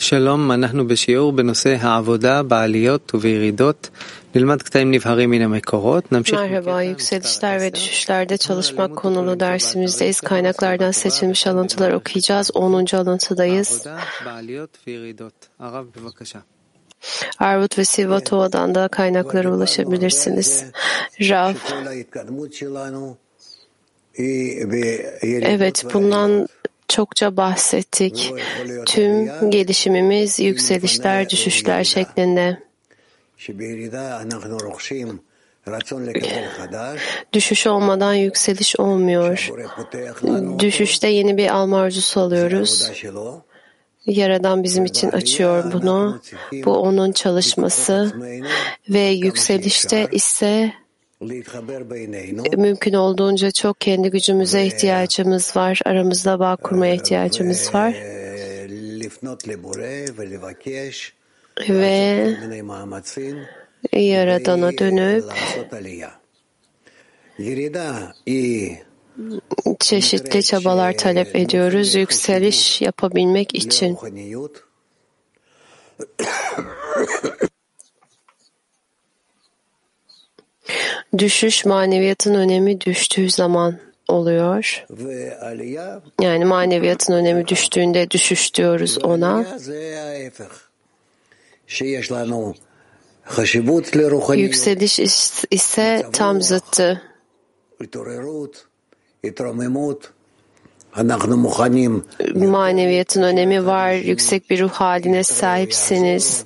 שלום, אנחנו בשיעור בנושא העבודה בעליות ובירידות. נלמד קטעים נבהרים מן המקורות. Merhaba, yükselişler ve düşüşlerde çalışmak konulu dersimizdeyiz. Kaynaklardan seçilmiş alıntılar okuyacağız. 10. alıntıdayız. Arvut ve Sivatova'dan da kaynaklara ulaşabilirsiniz. Rav. Evet, bundan çokça bahsettik. Tüm gelişimimiz yükselişler, düşüşler şeklinde. Düşüş olmadan yükseliş olmuyor. Düşüşte yeni bir alma arzusu alıyoruz. Yaradan bizim için açıyor bunu. Bu onun çalışması ve yükselişte ise mümkün olduğunca çok kendi gücümüze ihtiyacımız var. Aramızda bağ kurmaya ihtiyacımız var. Ve Yaradan'a dönüp çeşitli çabalar talep ediyoruz yükseliş yapabilmek için. Düşüş maneviyatın önemi düştüğü zaman oluyor. Yani maneviyatın önemi düştüğünde düşüş diyoruz ona. Yükseliş ise tam zıttı. Maneviyatın önemi var. Yüksek bir ruh haline sahipsiniz.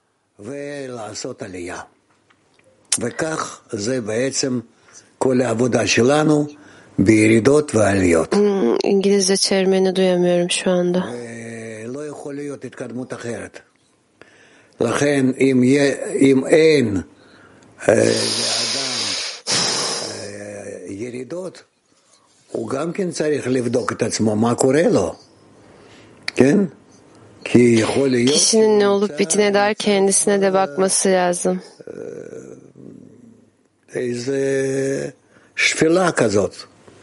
İngilizce çevirmeni duyamıyorum şu anda. לכן אם אין לאדם ירידות, הוא גם כן צריך לבדוק את עצמו מה קורה לו, כן? כי יכול להיות kişinin ne olup bitine dair kendisine de bakması lazım. איזה שפלה כזאת,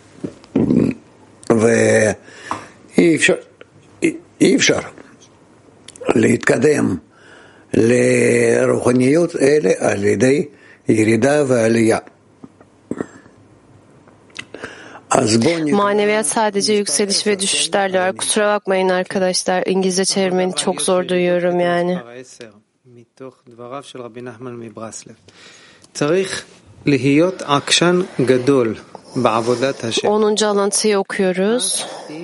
ואי אפשר להתקדם לרוחניות אלה על ידי ירידה ועלייה. Maneviyat sadece yükseliş ve düşüşlerle var. Kusura bakmayın arkadaşlar. İngilizce çevirmeni çok zor duyuyorum yani. 10. alıntıyı okuyoruz.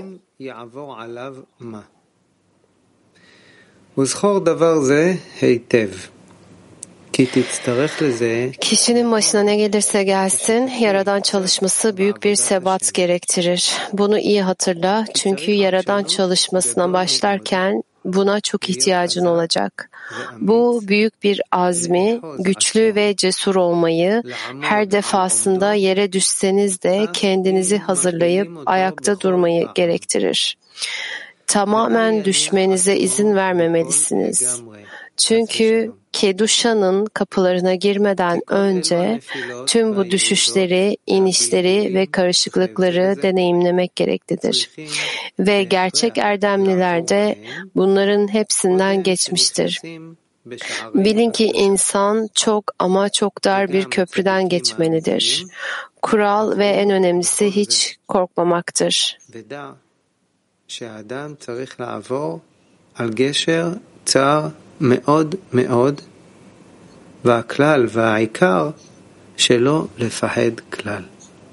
Kişinin başına ne gelirse gelsin, Yaradan çalışması büyük bir sebat gerektirir. Bunu iyi hatırla, çünkü Yaradan çalışmasına başlarken buna çok ihtiyacın olacak. Bu büyük bir azmi, güçlü ve cesur olmayı, her defasında yere düşseniz de kendinizi hazırlayıp ayakta durmayı gerektirir. Tamamen düşmenize izin vermemelisiniz. Çünkü Kedusha'nın kapılarına girmeden önce tüm bu düşüşleri, inişleri ve karışıklıkları deneyimlemek gereklidir. Ve gerçek erdemliler de bunların hepsinden geçmiştir. Bilin ki insan çok ama çok dar bir köprüden geçmelidir. Kural ve en önemlisi hiç korkmamaktır. שהאדם צריך לעבור על גשר צר מאוד מאוד, והכלל והעיקר שלא לפחד כלל.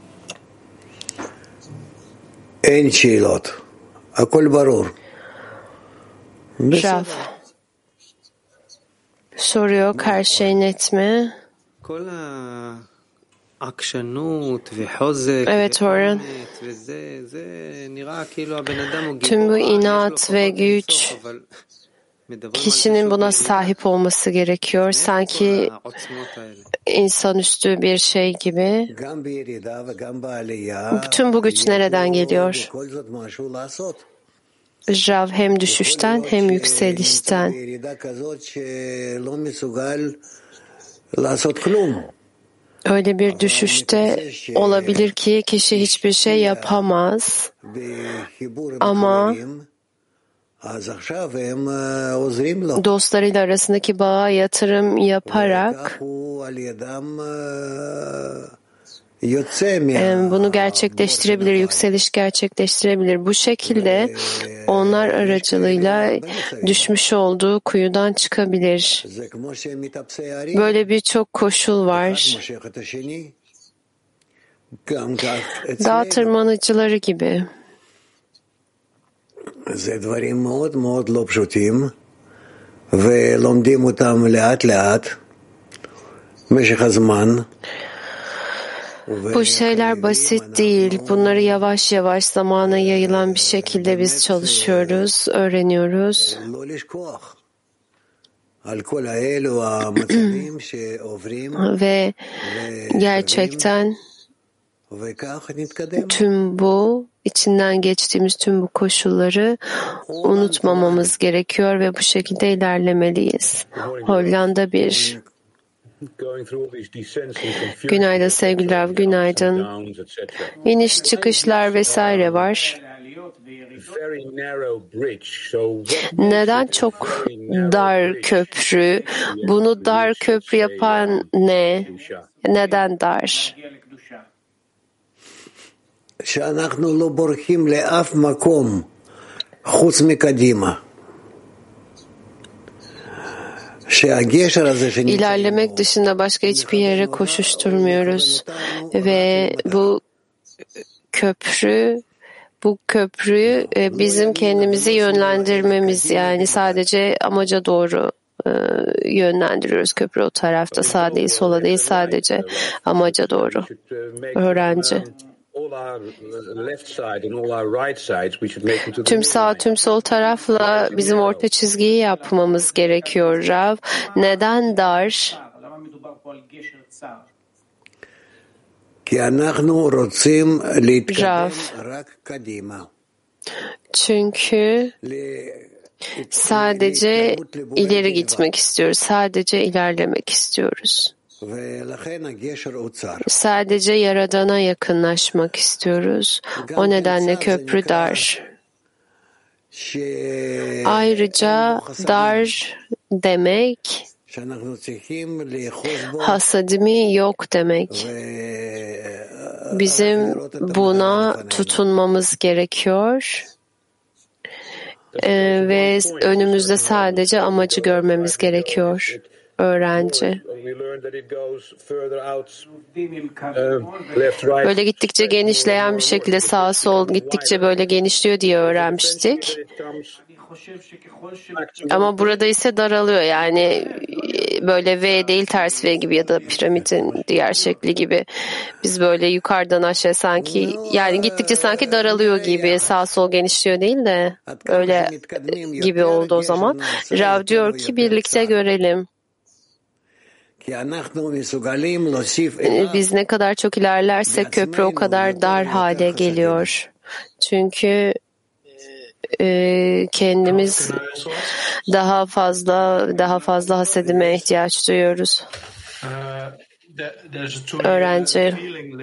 אין שאלות, הכל ברור. Rav soruyor, her şey net mi? Evet Orhan. Tüm bu inat ve güç kişinin buna sahip olması gerekiyor. Sanki insanüstü bir şey gibi. Tüm bu güç nereden geliyor? Rav hem düşüşten hem yükselişten. Öyle bir düşüşte olabilir ki kişi hiçbir şey yapamaz ama dostlarıyla arasındaki bağa yatırım yaparak bunu gerçekleştirebilir, yükseliş gerçekleştirebilir. Bu şekilde onlar aracılığıyla düşmüş olduğu kuyudan çıkabilir. Böyle birçok koşul var. Dağ tırmanıcıları gibi. זה דברים מאוד מאוד לא פשוטים ולומדים אותם לאט לאט במשך הזמן. Bu şeyler basit değil. Bunları yavaş yavaş zamana yayılan bir şekilde biz çalışıyoruz, öğreniyoruz. Ve gerçekten tüm bu içinden geçtiğimiz tüm bu koşulları unutmamamız gerekiyor ve bu şekilde ilerlemeliyiz. Hollanda 1. Günaydın sevgili Rav, günaydın. İniş çıkışlar vesaire var. Neden çok dar köprü? Bunu dar köprü yapan ne? Neden dar? שאנחנו לא בורחים לאף מקום חוץ מקדימה. İlerlemek dışında başka hiçbir yere koşuşturmuyoruz ve bu köprüyü bizim kendimizi yönlendirmemiz, yani sadece amaca doğru yönlendiriyoruz. Köprü o tarafta, sağa değil sola değil, sadece amaca doğru. Öğrenci. Tüm sağ tüm sol tarafla bizim orta çizgiyi yapmamız gerekiyor Rav. Neden dar? Rav. Çünkü sadece ileri gitmek istiyoruz. Sadece ilerlemek istiyoruz. Sadece Yaradan'a yakınlaşmak istiyoruz. O nedenle köprü dar. Ayrıca dar demek hasadimi yok demek. Bizim buna tutunmamız gerekiyor. Ve önümüzde sadece amacı görmemiz gerekiyor. Öğrenci. Böyle gittikçe genişleyen bir şekilde sağa sol gittikçe böyle genişliyor diye öğrenmiştik. Ama burada ise daralıyor, yani böyle V değil ters V gibi ya da piramidin diğer şekli gibi. Biz böyle yukarıdan aşağı sanki, yani gittikçe sanki daralıyor gibi, sağ sol genişliyor değil de öyle gibi oldu o zaman. Rav diyor ki birlikte görelim. Biz ne kadar çok ilerlersek köprü o kadar dar hale geliyor. Çünkü kendimiz daha fazla hasedime ihtiyaç duyuyoruz. Öğrenci.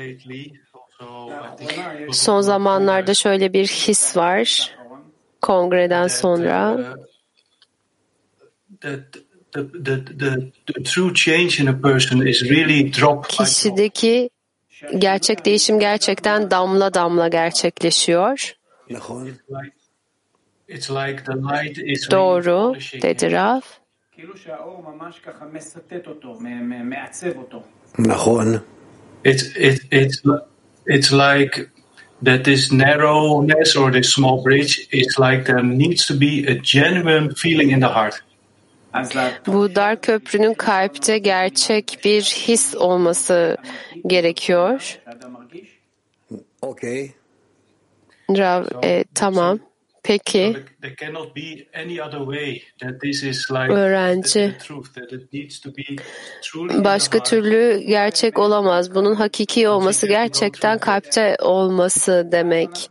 Son zamanlarda şöyle bir his var. Kongreden sonra. Kişideki gerçek değişim gerçekten damla damla gerçekleşiyor. Doğru dedi Rav. It's like that this narrowness or this small bridge is like there needs to be a genuine feeling in the heart. Bu dar köprünün kalpte gerçek bir his olması gerekiyor. Okay. Rav, tamam. Peki. Öğrenci. Başka türlü gerçek olamaz. Bunun hakiki olması gerçekten kalpte olması demek.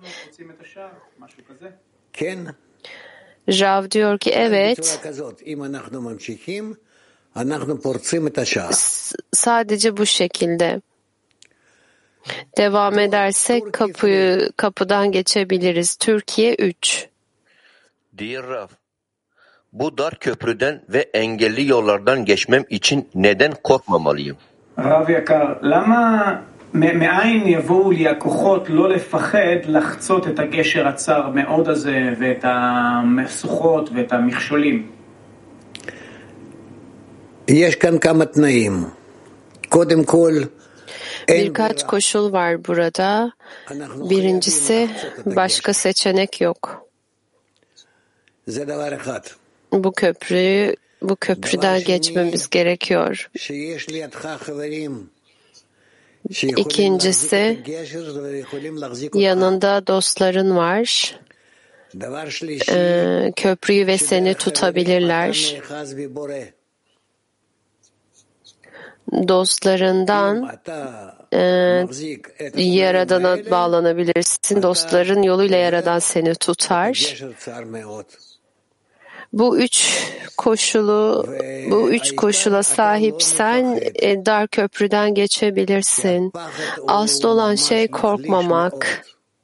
Rav diyor ki evet. Sadece bu şekilde. Devam edersek kapıdan geçebiliriz. Türkiye 3. Dear Raf, bu dar köprüden ve engelli yollardan geçmem için neden korkmamalıyım? רב יקר, מאין יבואו לי הכוחות לא לפחד לחצות את הגשר הצר מאוד הזה ואת המשוכות ואת המכשולים? יש כאן כמה תנאים. קודם כל, Birkaç koşul var burada. Birincisi, başka seçenek yok. Bu köprüden geçmemiz gerekiyor. İkincisi, yanında dostların var. Köprüyü ve seni tutabilirler. Dostlarından Yaradan'a bağlanabilirsin. Dostların yoluyla Yaradan seni tutar. Bu üç koşula sahipsen dar köprüden geçebilirsin. Asıl olan şey korkmamak.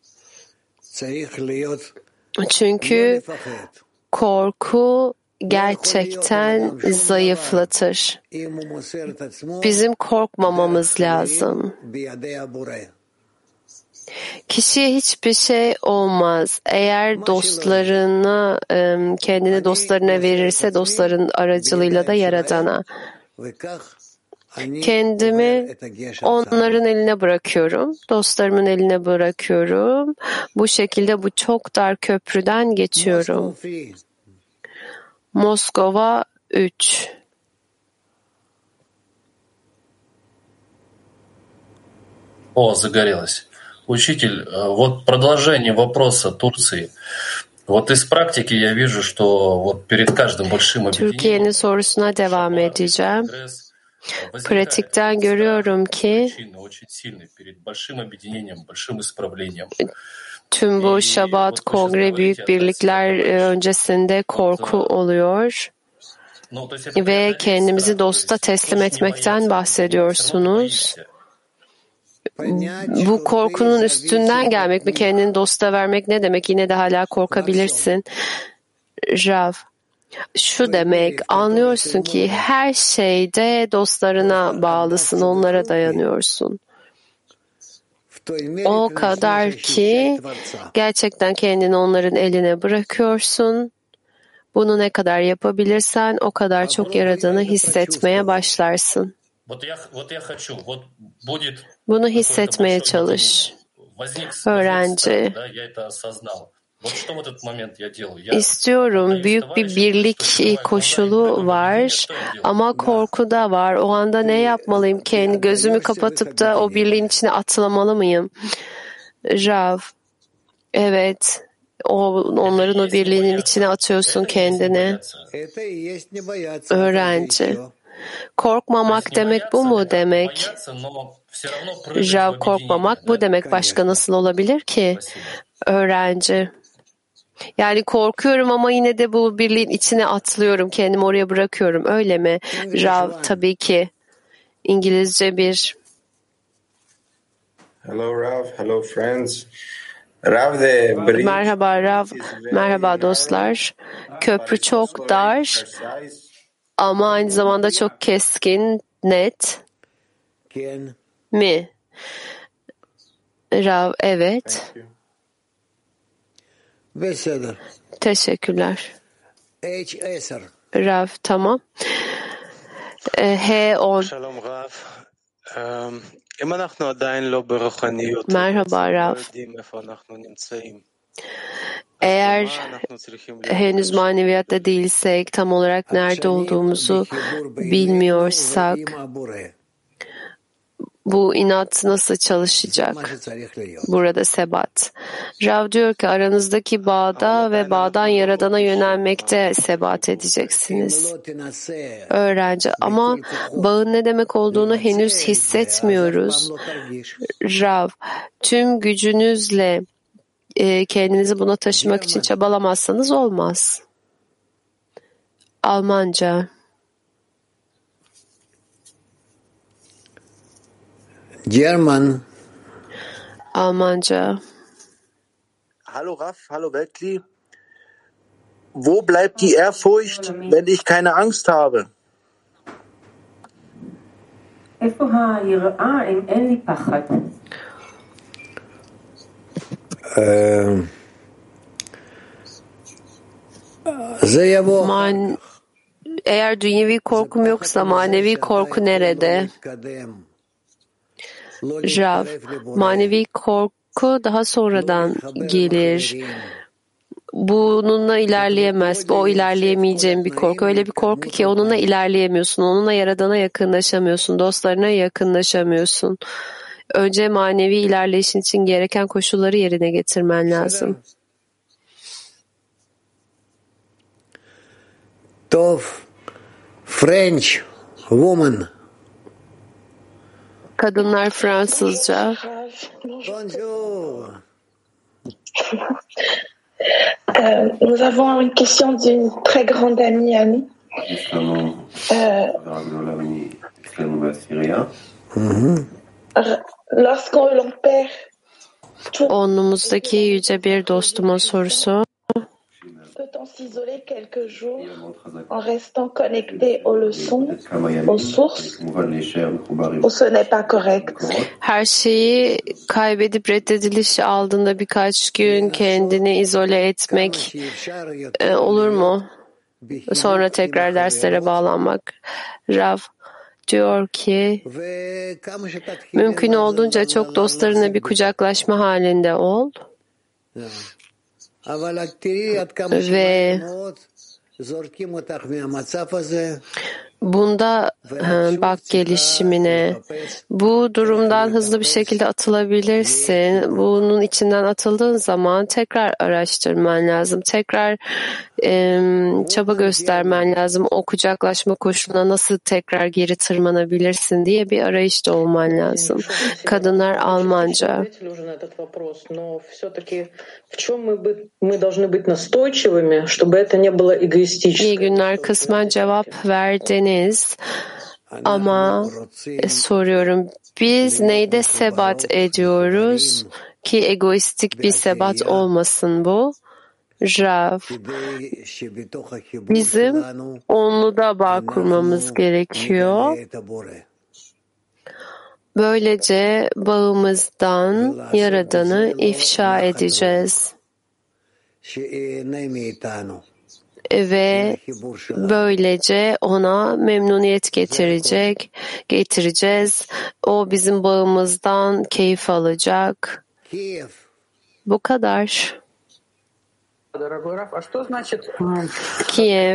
Çünkü korku gerçekten zayıflatır. Bizim korkmamamız lazım. Kişiye hiçbir şey olmaz. Eğer dostlarını, kendini dostlarına verirse dostların aracılığıyla da Yaradan'a. Kendimi onların eline bırakıyorum. Dostlarımın eline bırakıyorum. Bu şekilde bu çok dar köprüden geçiyorum. Moskova 3. Загорелось. Учитель, вот продолжение вопроса Турции. Вот из практики я вижу, что вот перед каждым большим Türkiye'nin sorusuna devam edeceğim. Pratikten görüyorum ki tüm bu Şabat, kongre, büyük birlikler öncesinde korku oluyor ve kendimizi dosta teslim etmekten bahsediyorsunuz. Bu korkunun üstünden gelmek mi? Kendini dosta vermek ne demek? Yine de hala korkabilirsin. Rav, şu demek, anlıyorsun ki her şeyde dostlarına bağlısın, onlara dayanıyorsun. O kadar ki gerçekten kendini onların eline bırakıyorsun. Bunu ne kadar yapabilirsen o kadar çok Yaradan'ı hissetmeye başlarsın. Bunu hissetmeye çalış. Öğrenci. İstiyorum. Büyük bir birlik koşulu var ama korku da var. O anda ne yapmalıyım? Kendi gözümü kapatıp da o birliğin içine atlamalı mıyım? Rav. Evet. Onların o birliğinin içine atıyorsun kendini. Öğrenci. Korkmamak demek bu mu demek? Rav, korkmamak bu demek. Başka nasıl olabilir ki? Öğrenci. Yani korkuyorum ama yine de bu birliğin içine atlıyorum. Kendimi oraya bırakıyorum. Öyle mi? Rav, tabii ki. İngilizce bir. Hello Rav, hello friends. Merhaba Rav, merhaba dostlar. Köprü çok dar ama aynı zamanda çok keskin, net mi? Rav, evet. Teşekkürler. Rav, tamam. H10. Merhaba Rav. Eğer henüz maneviyatta değilsek, tam olarak nerede olduğumuzu bilmiyorsak, bu inat nasıl çalışacak? Burada sebat. Rav diyor ki aranızdaki bağda ve bağdan Yaradan'a yönelmekte sebat edeceksiniz. Öğrenci, ama bağın ne demek olduğunu henüz hissetmiyoruz. Rav, tüm gücünüzle kendinizi buna taşımak için çabalamazsanız olmaz. Almanca. German. Almanca. Hallo Raf, hallo Weltkli. wo bleibt die Ehrfurcht, wenn ich keine Angst habe? Eğer dünyevi korkum yoksa manevi korku nerede? Rav, manevi korku daha sonradan gelir. Bununla ilerleyemez. O ilerleyemeyeceğin bir korku. Öyle bir korku ki onunla ilerleyemiyorsun. Onunla Yaradan'a yakınlaşamıyorsun. Dostlarına yakınlaşamıyorsun. Önce manevi ilerleyişin için gereken koşulları yerine getirmen lazım. Tov, French woman. Kadınlar Fransızca. Bonjour. Nous avons une question d'une très grande amie à nous. Lorsqu'on l'on perd Onumuzdaki yüce bir dostumun sorusu. Peut-on s'isoler quelques jours en restant connecté aux leçons, aux sources, ou ce n'est pas correct? Her şeyi kaybedip reddediliş aldığında birkaç gün kendini izole etmek olur mu? Sonra tekrar derslere bağlanmak. Rav diyor ki mümkün olduğunca çok dostlarına bir kucaklaşma halinde ol. Ve bunda bak gelişimine. Bu durumdan hızlı bir şekilde atılabilirsin. Bunun içinden atıldığın zaman tekrar araştırman lazım. Tekrar çaba göstermen lazım. O kucaklaşma koşuluna nasıl tekrar geri tırmanabilirsin diye bir arayışta olman lazım. Kadınlar Almanca. İyi günler, kısmen cevap verdiniz ama soruyorum, biz neyde sebat ediyoruz ki egoistik bir sebat olmasın bu? Rav, bizim onluda bağ kurmamız gerekiyor. Böylece bağımızdan Yaradan'ı ifşa edeceğiz. Ve böylece ona memnuniyet getireceğiz. O bizim bağımızdan keyif alacak. Bu kadar. Kiev.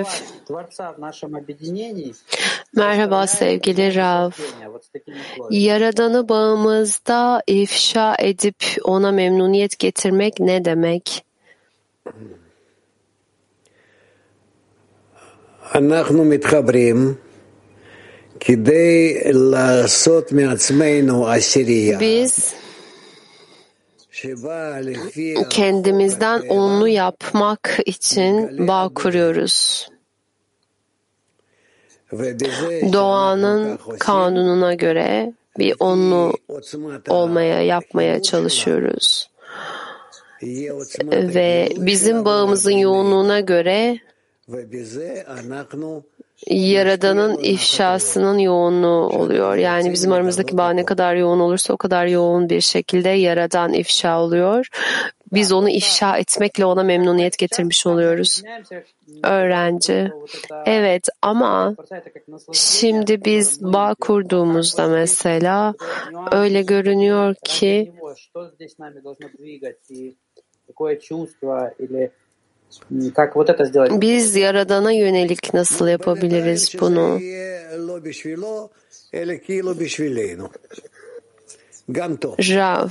Merhaba sevgili Rav. Yaradan'ı bağımızda ifşa edip ona memnuniyet getirmek ne demek? אנחנו מתחברים כדי לעשות מעצמנו עשירייה. Biz kendimizden onlu yapmak için bağ kuruyoruz. Doğanın kanununa göre bir onlu yapmaya çalışıyoruz. Ve bizim bağımızın yoğunluğuna göre Yaradan'ın ifşasının yoğunluğu oluyor. Yani bizim aramızdaki bağ ne kadar yoğun olursa o kadar yoğun bir şekilde Yaradan ifşa oluyor. Biz onu ifşa etmekle ona memnuniyet getirmiş oluyoruz. Öğrenci. Evet ama şimdi biz bağ kurduğumuzda mesela öyle görünüyor ki biz Yaradan'a yönelik nasıl yapabiliriz bunu? Rav.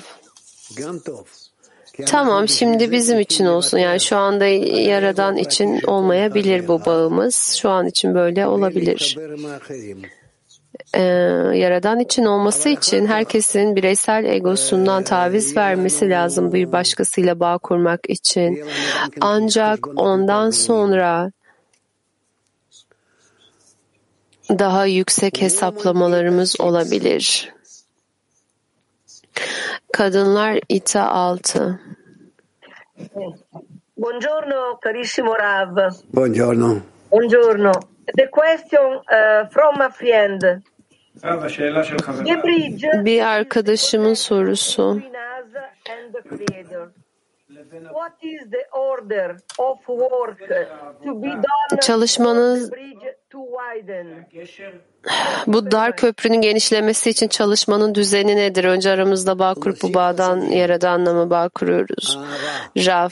Tamam, şimdi bizim için olsun. Yani şu anda Yaradan için olmayabilir bu bağımız. Şu an için böyle olabilir. Yaradan için olması için herkesin bireysel egosundan taviz vermesi lazım bir başkasıyla bağ kurmak için. Ancak ondan sonra daha yüksek hesaplamalarımız olabilir. Kadınlar İTA 6. Buongiorno, carissimo Rav. Buongiorno. Buongiorno. The question from a friend. The bridge Bir arkadaşımın sorusu. between us and the Creator. What is the order of work to be done Çalışmanın for the bridge to widen? bu dar köprünün genişlemesi için çalışmanın düzeni nedir? Önce aramızda bağ kurup bu bağdan Yaradan'la mı bağ kuruyoruz? Rav.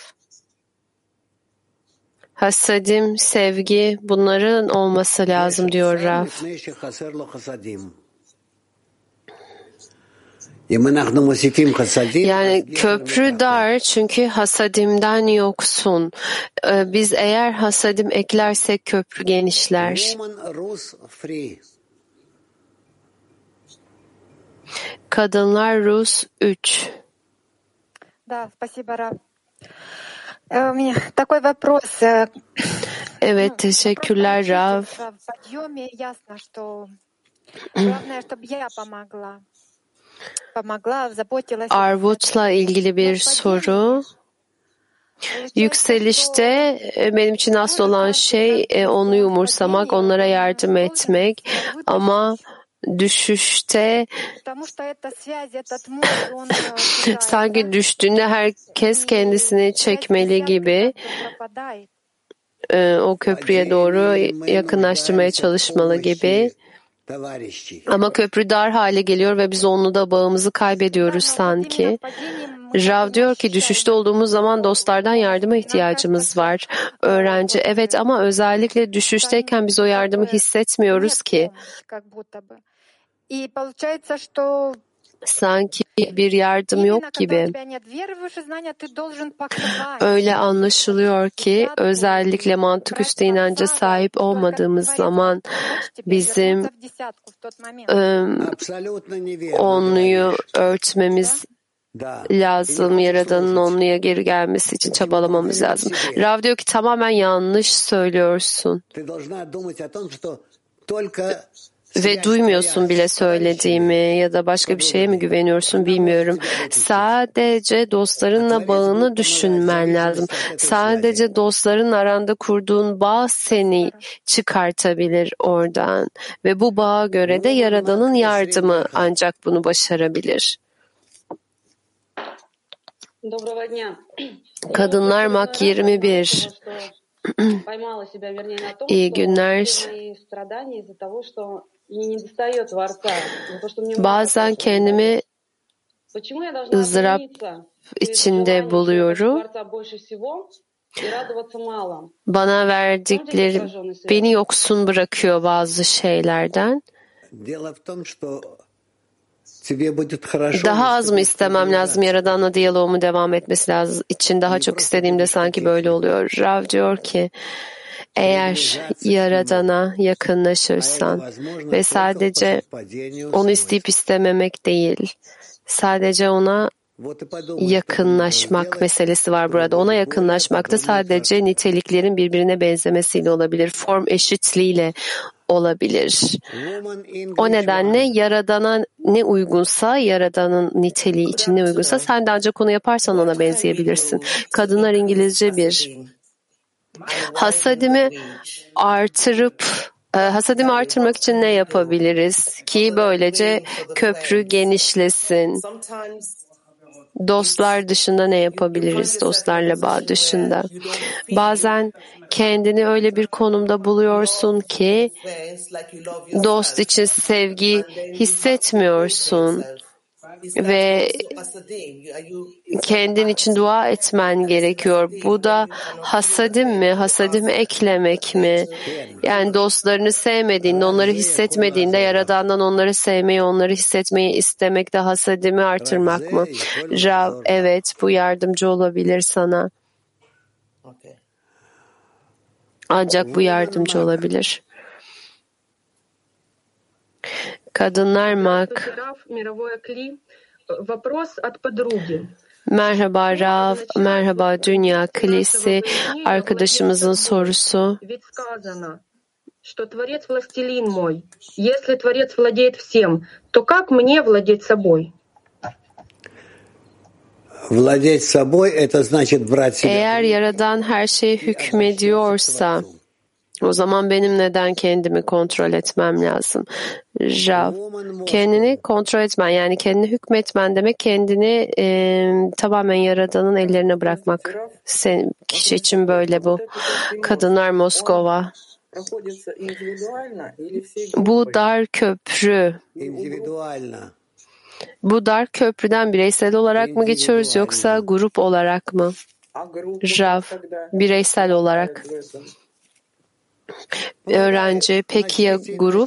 Hasadim, sevgi, bunların olması lazım diyor Rav. Yani köprü dar çünkü hasadimden yoksun. Biz eğer hasadim eklersek köprü genişler. Kadınlar Rus 3. Да, спасибо, Рав. У меня такой вопрос. Evet, teşekkürler Rav. В подъеме ясно, что главное, чтобы я помогла, заботилась. Arvut'la ilgili bir soru. Yükselişte benim için asıl olan şey onu umursamak, onlara yardım etmek. Ama düşüşte sanki düştüğünde herkes kendisini çekmeli gibi o köprüye doğru yakınlaştırmaya çalışmalı gibi. Ama köprü dar hale geliyor ve biz onunla da bağımızı kaybediyoruz sanki. Rav diyor ki düşüşte olduğumuz zaman dostlardan yardıma ihtiyacımız var. Öğrenci evet ama özellikle düşüşteyken biz o yardımı hissetmiyoruz ki. Sanki bir yardım yok gibi. Öyle anlaşılıyor ki özellikle mantık üstü inanca sahip olmadığımız zaman bizim onluyu örtmemiz lazım. Yaradan'ın onluya geri gelmesi için çabalamamız lazım. Rav diyor ki tamamen yanlış söylüyorsun. Ve duymuyorsun bile söylediğimi ya da başka bir şeye mi güveniyorsun bilmiyorum. Sadece dostlarınla bağını düşünmen lazım. Sadece dostların aranda kurduğun bağ seni çıkartabilir oradan. Ve bu bağa göre de Yaradan'ın yardımı ancak bunu başarabilir. Kadınlar Mak 21. İyi günler. Bazen kendimi ızdırap içinde buluyorum. Bana verdikleri beni yoksun bırakıyor bazı şeylerden. Daha az mı istemem lazım? Yaradan'la diyaloğumu devam etmesi lazım. İçin daha çok istediğimde sanki böyle oluyor. Rav diyor ki eğer Yaradan'a yakınlaşırsan ve sadece onu isteyip istememek değil, sadece ona yakınlaşmak meselesi var burada. Ona yakınlaşmak da sadece niteliklerin birbirine benzemesiyle olabilir. Form eşitliğiyle olabilir. O nedenle Yaradan'a ne uygunsa, Yaradan'ın niteliği için ne uygunsa sen de ancak onu yaparsan ona benzeyebilirsin. Kadınlar İngilizce 1. Hasadimi artırmak için ne yapabiliriz ki böylece köprü genişlesin? Dostlar dışında ne yapabiliriz? Dostlarla bağ dışında. Bazen kendini öyle bir konumda buluyorsun ki dost için sevgi hissetmiyorsun ve kendin için dua etmen gerekiyor. Bu da hasadim mi? Hasadimi eklemek mi? Yani dostlarını sevmediğinde, onları hissetmediğinde Yaradan'dan onları sevmeyi, onları hissetmeyi istemek de hasadimi artırmak mı? Rav, evet bu yardımcı olabilir sana. Ancak bu yardımcı olabilir. Kadınlar Mak. Merhaba Rav, merhaba Dünya Kilisi. Arkadaşımızın sorusu. Что Творец властелин мой. Если Творец владеет всем, то как мне владеть собой? Владеть собой — это значит брать себя. Eğer Yaradan her şeye hükmediyorsa, o zaman benim neden kendimi kontrol etmem lazım? Rav, kendini kontrol etmen, yani kendini hükmetmen demek kendini tamamen Yaradan'ın ellerine bırakmak. Kişi için böyle bu. Kadınlar Moskova. Bu dar köprü. Bu dar köprüden bireysel olarak mı geçiyoruz yoksa grup olarak mı? Rav, bireysel olarak. Öğrenci, peki ya grup?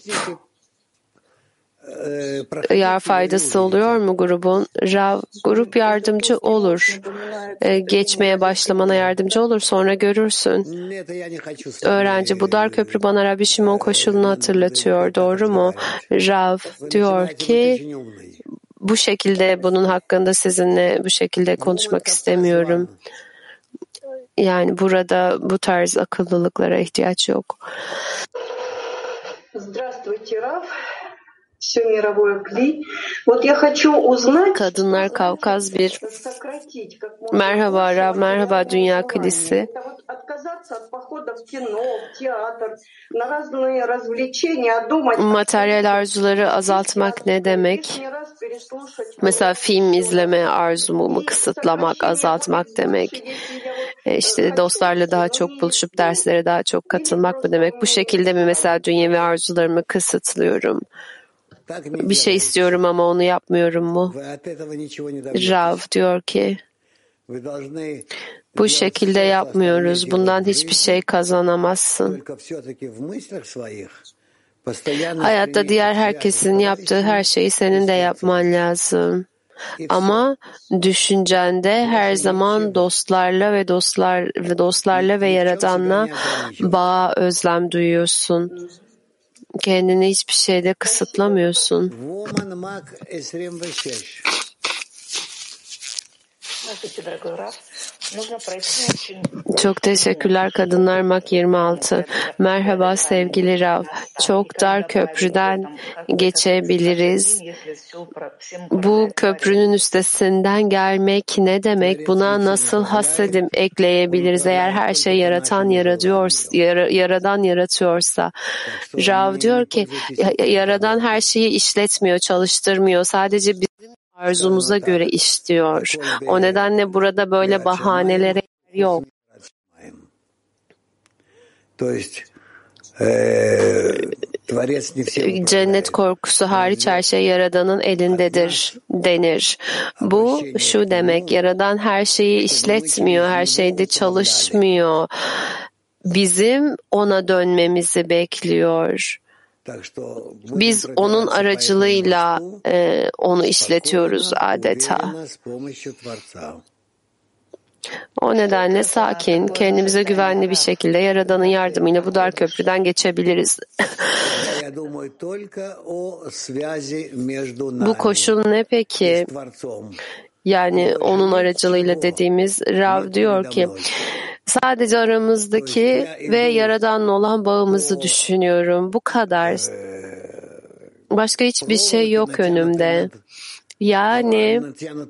Ya faydası oluyor mu grubun? Rav, grup yardımcı olur. Geçmeye başlamana yardımcı olur. Sonra görürsün. Öğrenci, bu dar köprü bana Rabbi Şimon koşulunu hatırlatıyor. Doğru mu? Rav diyor ki bu şekilde bunun hakkında sizinle bu şekilde konuşmak istemiyorum. Yani burada bu tarz akıllılıklara ihtiyaç yok. Kadınlar Kavkaz 1. Merhaba Rav, merhaba Dünya Kilisi. Materyal arzuları azaltmak ne demek? Mesela film izleme arzumu kısıtlamak, azaltmak demek. İşte dostlarla daha çok buluşup derslere daha çok katılmak mı demek? Bu şekilde mi mesela dünyevi arzularımı kısıtlıyorum? Bir şey istiyorum ama onu yapmıyorum mu? Rav diyor ki bu şekilde yapmıyoruz. Bundan hiçbir şey kazanamazsın. Hayatta diğer herkesin yaptığı her şeyi senin de yapman lazım. Ama düşüncende her zaman dostlarla ve Yaradan'la bağa özlem duyuyorsun. Kendini hiçbir şeyde kısıtlamıyorsun. Çok teşekkürler Kadınlar Mak 26. Merhaba sevgili Rav. Çok dar köprüden geçebiliriz. Bu köprünün üstesinden gelmek ne demek? Buna nasıl hasedim ekleyebiliriz? Eğer her şey Yaradan yaratıyorsa. Rav diyor ki Yaradan her şeyi işletmiyor, çalıştırmıyor. Sadece bizim arzumuza göre işliyor. O nedenle burada böyle bahanelere yok. Cennet korkusu hariç her şey Yaradan'ın elindedir denir. Bu şu demek, Yaradan her şeyi işletmiyor, her şeyde çalışmıyor. Bizim ona dönmemizi bekliyor. Biz onun aracılığıyla onu işletiyoruz adeta. O nedenle sakin, kendimize güvenli bir şekilde Yaradan'ın yardımıyla bu dar köprüden geçebiliriz. Bu koşul ne peki? Yani onun aracılığıyla dediğimiz Rav diyor ki sadece aramızdaki ve Yaradan'la olan bağımızı düşünüyorum. Bu kadar. Başka hiçbir şey yok önümde. Yani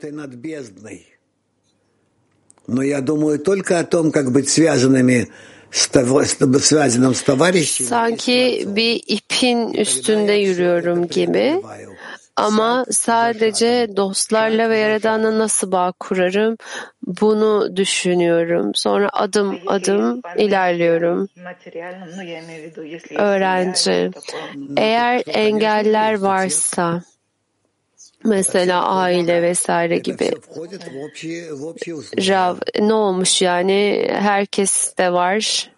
sanki bir ipin üstünde yürüyorum gibi. Ama sadece dostlarla ve Yaradan'la nasıl bağ kurarım bunu düşünüyorum. Sonra adım adım ilerliyorum. Öğrenci, eğer engeller varsa, mesela aile vesaire gibi. Rav, ne olmuş yani? Herkes de var.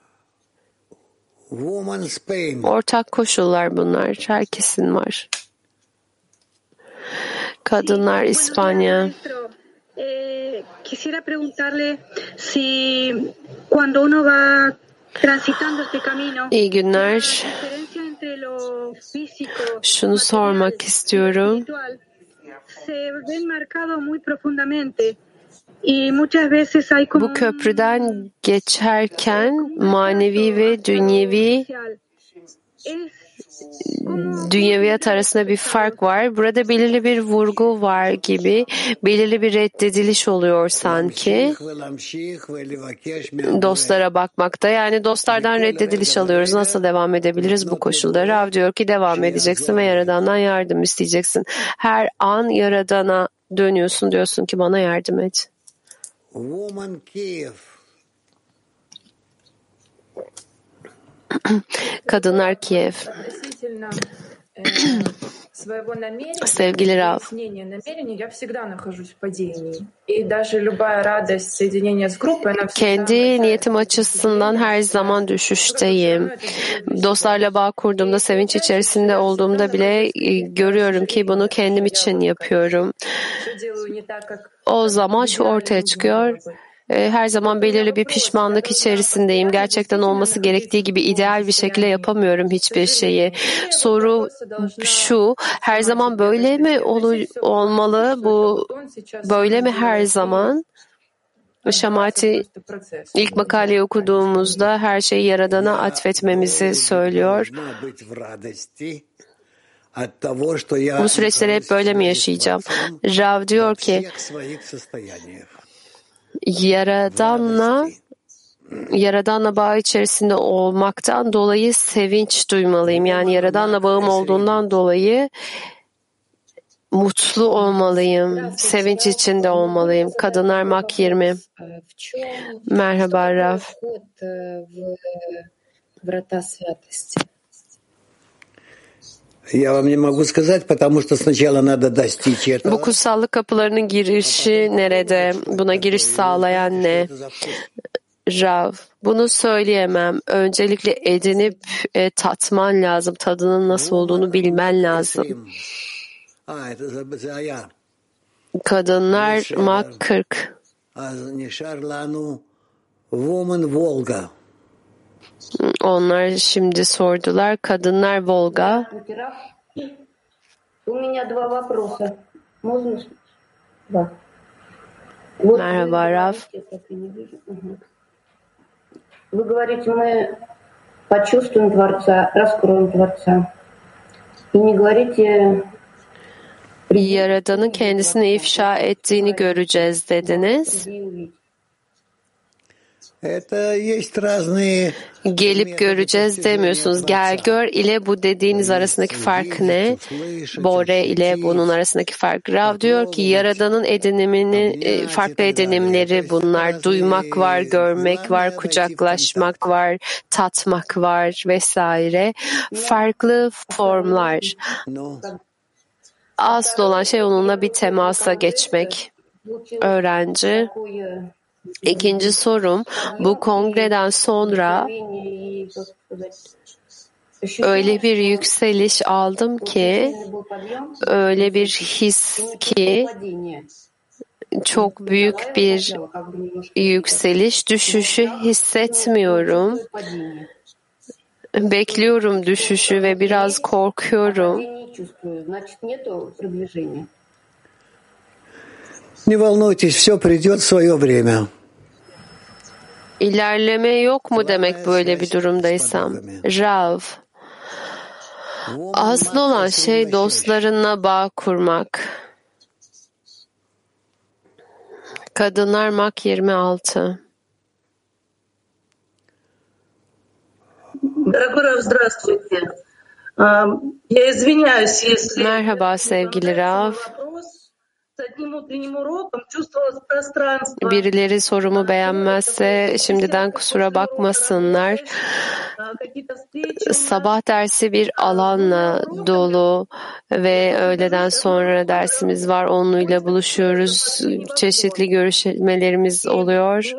Ortak koşullar bunlar. Herkesin var. Kadınlar İspanya. Quisiera preguntarle si cuando uno va transitando este camino. İyi günler. Şunu sormak istiyorum. Bu köprüden geçerken manevi ve dünyevi dünyeviyat arasında bir fark var. Burada belirli bir vurgu var gibi, belirli bir reddediliş oluyor sanki. Dostlara bakmakta, yani dostlardan reddediliş alıyoruz. Nasıl devam edebiliriz bu koşulda? Rav diyor ki devam edeceksin ve Yaradan'dan yardım isteyeceksin. Her an Yaradan'a dönüyorsun, diyorsun ki bana yardım et. Kadınlar Kiev. Sevgili Rav, kendi niyetim açısından her zaman düşüşteyim. Dostlarla bağ kurduğumda, sevinç içerisinde olduğumda bile görüyorum ki bunu kendim için yapıyorum. O zaman şu ortaya çıkıyor. Her zaman belirli bir pişmanlık içerisindeyim. Gerçekten olması gerektiği gibi ideal bir şekilde yapamıyorum hiçbir şeyi. Soru şu, her zaman böyle mi olmalı? Bu böyle mi her zaman? Şamati ilk makaleyi okuduğumuzda her şeyi Yaradan'a atfetmemizi söylüyor. Bu süreçleri hep böyle mi yaşayacağım? Rav diyor ki, Yaradan'la bağ içerisinde olmaktan dolayı sevinç duymalıyım. Yani Yaradan'la bağım olduğundan dolayı mutlu olmalıyım. Sevinç içinde olmalıyım. Kadınlar Mak 20. Merhaba Rav. Bu kutsallık kapılarının girişi nerede? Buna giriş sağlayan ne? Rav, bunu söyleyemem. Öncelikle edinip tatman lazım. Tadının nasıl olduğunu bilmen lazım. Kadınlar Mak 40. Onlar şimdi sordular. Kadınlar Volga. Merhaba Rav. Вы говорите, мы почувствуем Творца, раскроем Творца. И не говорите... Yaradan'ın kendisini ifşa ettiğini göreceğiz dediniz. Gelip göreceğiz demiyorsunuz. Gel gör ile bu dediğiniz arasındaki fark ne? Bore ile bunun arasındaki fark. Rav diyor ki Yaradan'ın edinimini, farklı edinimleri bunlar. Duymak var, görmek var, kucaklaşmak var, tatmak var vesaire. Farklı formlar. Asıl olan şey onunla bir temasa geçmek. Öğrenci. İkinci sorum, bu kongreden sonra öyle bir yükseliş aldım ki, öyle bir his ki çok büyük bir yükseliş, düşüşü hissetmiyorum. Bekliyorum düşüşü ve biraz korkuyorum. Не волнуйтесь, все придет в свое время. İlerleme yok mu demek böyle bir durumdaysam? Rav, asıl olan şey dostlarınla bağ kurmak. Kadınlar Mak 26. Merhaba sevgili Rav. Birileri sorumu beğenmezse şimdiden kusura bakmasınlar. Sabah dersi bir alanla dolu ve öğleden sonra dersimiz var. Onunla buluşuyoruz. Çeşitli görüşmelerimiz oluyor.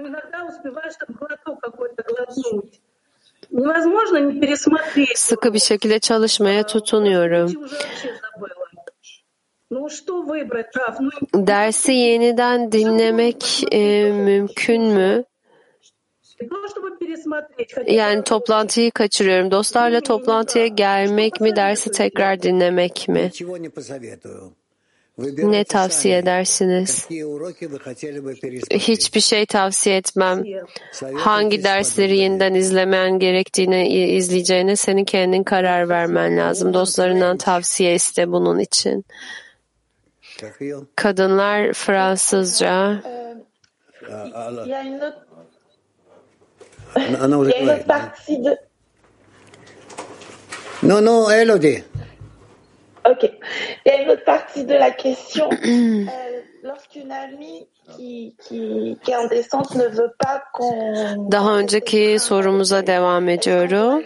Sıkı bir şekilde çalışmaya tutunuyorum. Dersi yeniden dinlemek mümkün mü? Yani toplantıyı kaçırıyorum. Dostlarla toplantıya gelmek mi, dersi tekrar dinlemek mi? Ne tavsiye edersiniz? Hiçbir şey tavsiye etmem. Hangi dersleri yeniden izlemen gerektiğini izleyeceğine senin kendin karar vermen lazım. Dostlarından tavsiye iste bunun için. Kadınlar Fransızca. Non, Elodie. Ok. Il y a une autre partie de la question. Lorsqu'une amie qui est en descente ne veut pas qu'on... Daha önceki sorumuza devam ediyorum.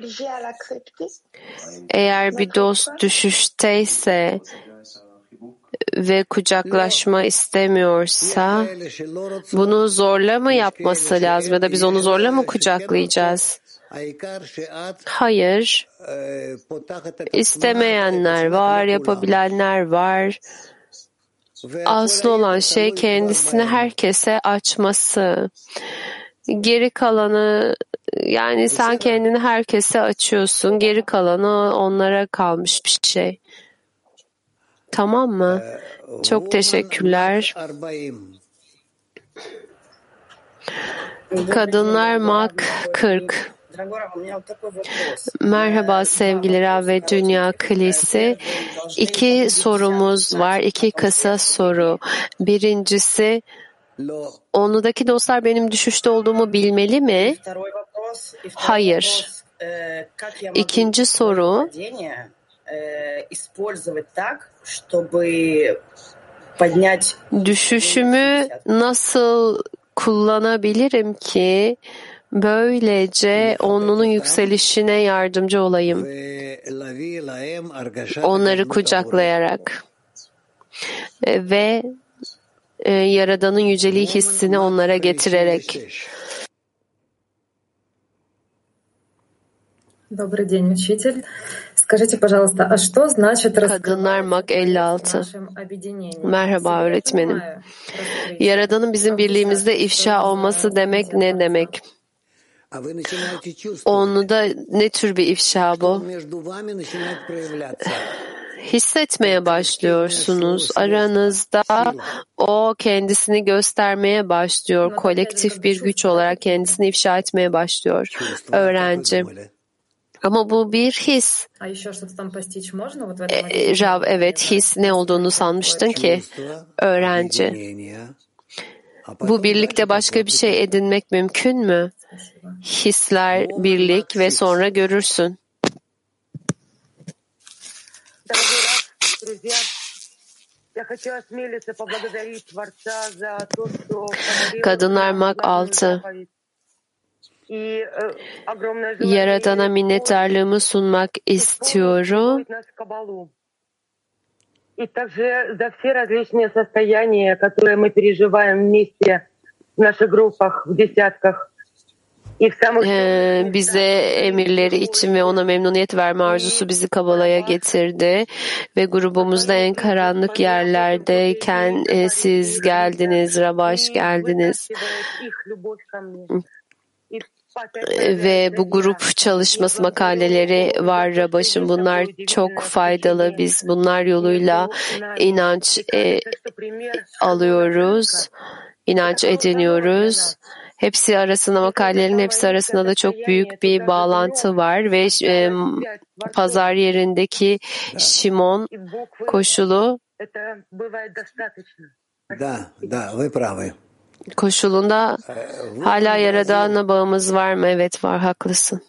Eğer bir dost düşüşteyse ve kucaklaşma istemiyorsa bunu zorla mı yapması lazım ya da biz onu zorla mı kucaklayacağız? Hayır. İstemeyenler var, yapabilenler var. Asıl olan şey kendisini herkese açması. Geri kalanı, yani sen kendini herkese açıyorsun. Geri kalanı onlara kalmış bir şey. Tamam mı? Çok teşekkürler. Kadınlar Mak 40. Merhaba sevgili Rav ve Dünya Kilisi. 2 sorumuz var. 2 kısa soru. Birincisi, onudaki dostlar benim düşüşte olduğumu bilmeli mi? Hayır. İkinci soru, düşüşümü nasıl kullanabilirim ki böylece onunun yükselişine yardımcı olayım? Onları kucaklayarak ve Yaradan'ın yüceliği hissini onlara getirerek. Добрый день, учитель. Скажите, пожалуйста, а что значит Kadınlar Mak 56. Merhaba öğretmenim. Yaradan'ın bizim birliğimizde ifşa olması demek ne demek? Onda ne tür bir ifşa bu? Hissetmeye başlıyorsunuz. Aranızda o kendisini göstermeye başlıyor. Kolektif bir güç olarak kendisini ifşa etmeye başlıyor. Öğrenci. Ama bu bir his. Rav, evet, his ne olduğunu sanmıştın ki? Öğrenci. Bu birlikte başka bir şey edinmek mümkün mü? Hisler, birlik ve sonra görürsün. Kadınlar Mak 6. Yaradan'a minnettarlığımı sunmak istiyorum. И также за все различные состояния, которые мы переживаем вместе в наших группах, в десятках. Bize emirleri için ve ona memnuniyet verme arzusu bizi Kabala'ya getirdi ve grubumuzda en karanlık yerlerdeyken siz geldiniz, Rabaş geldiniz. Ve bu grup çalışması makaleleri var Rabaş'ın. Bunlar çok faydalı. Biz bunlar yoluyla inanç alıyoruz, inanç ediniyoruz. Hepsi arasında, makalelerin hepsi arasında da çok büyük bir bağlantı var ve pazar yerindeki Şimon koşulu koşulunda hala Yaradan'a bağımız var mı? Evet var, haklısın.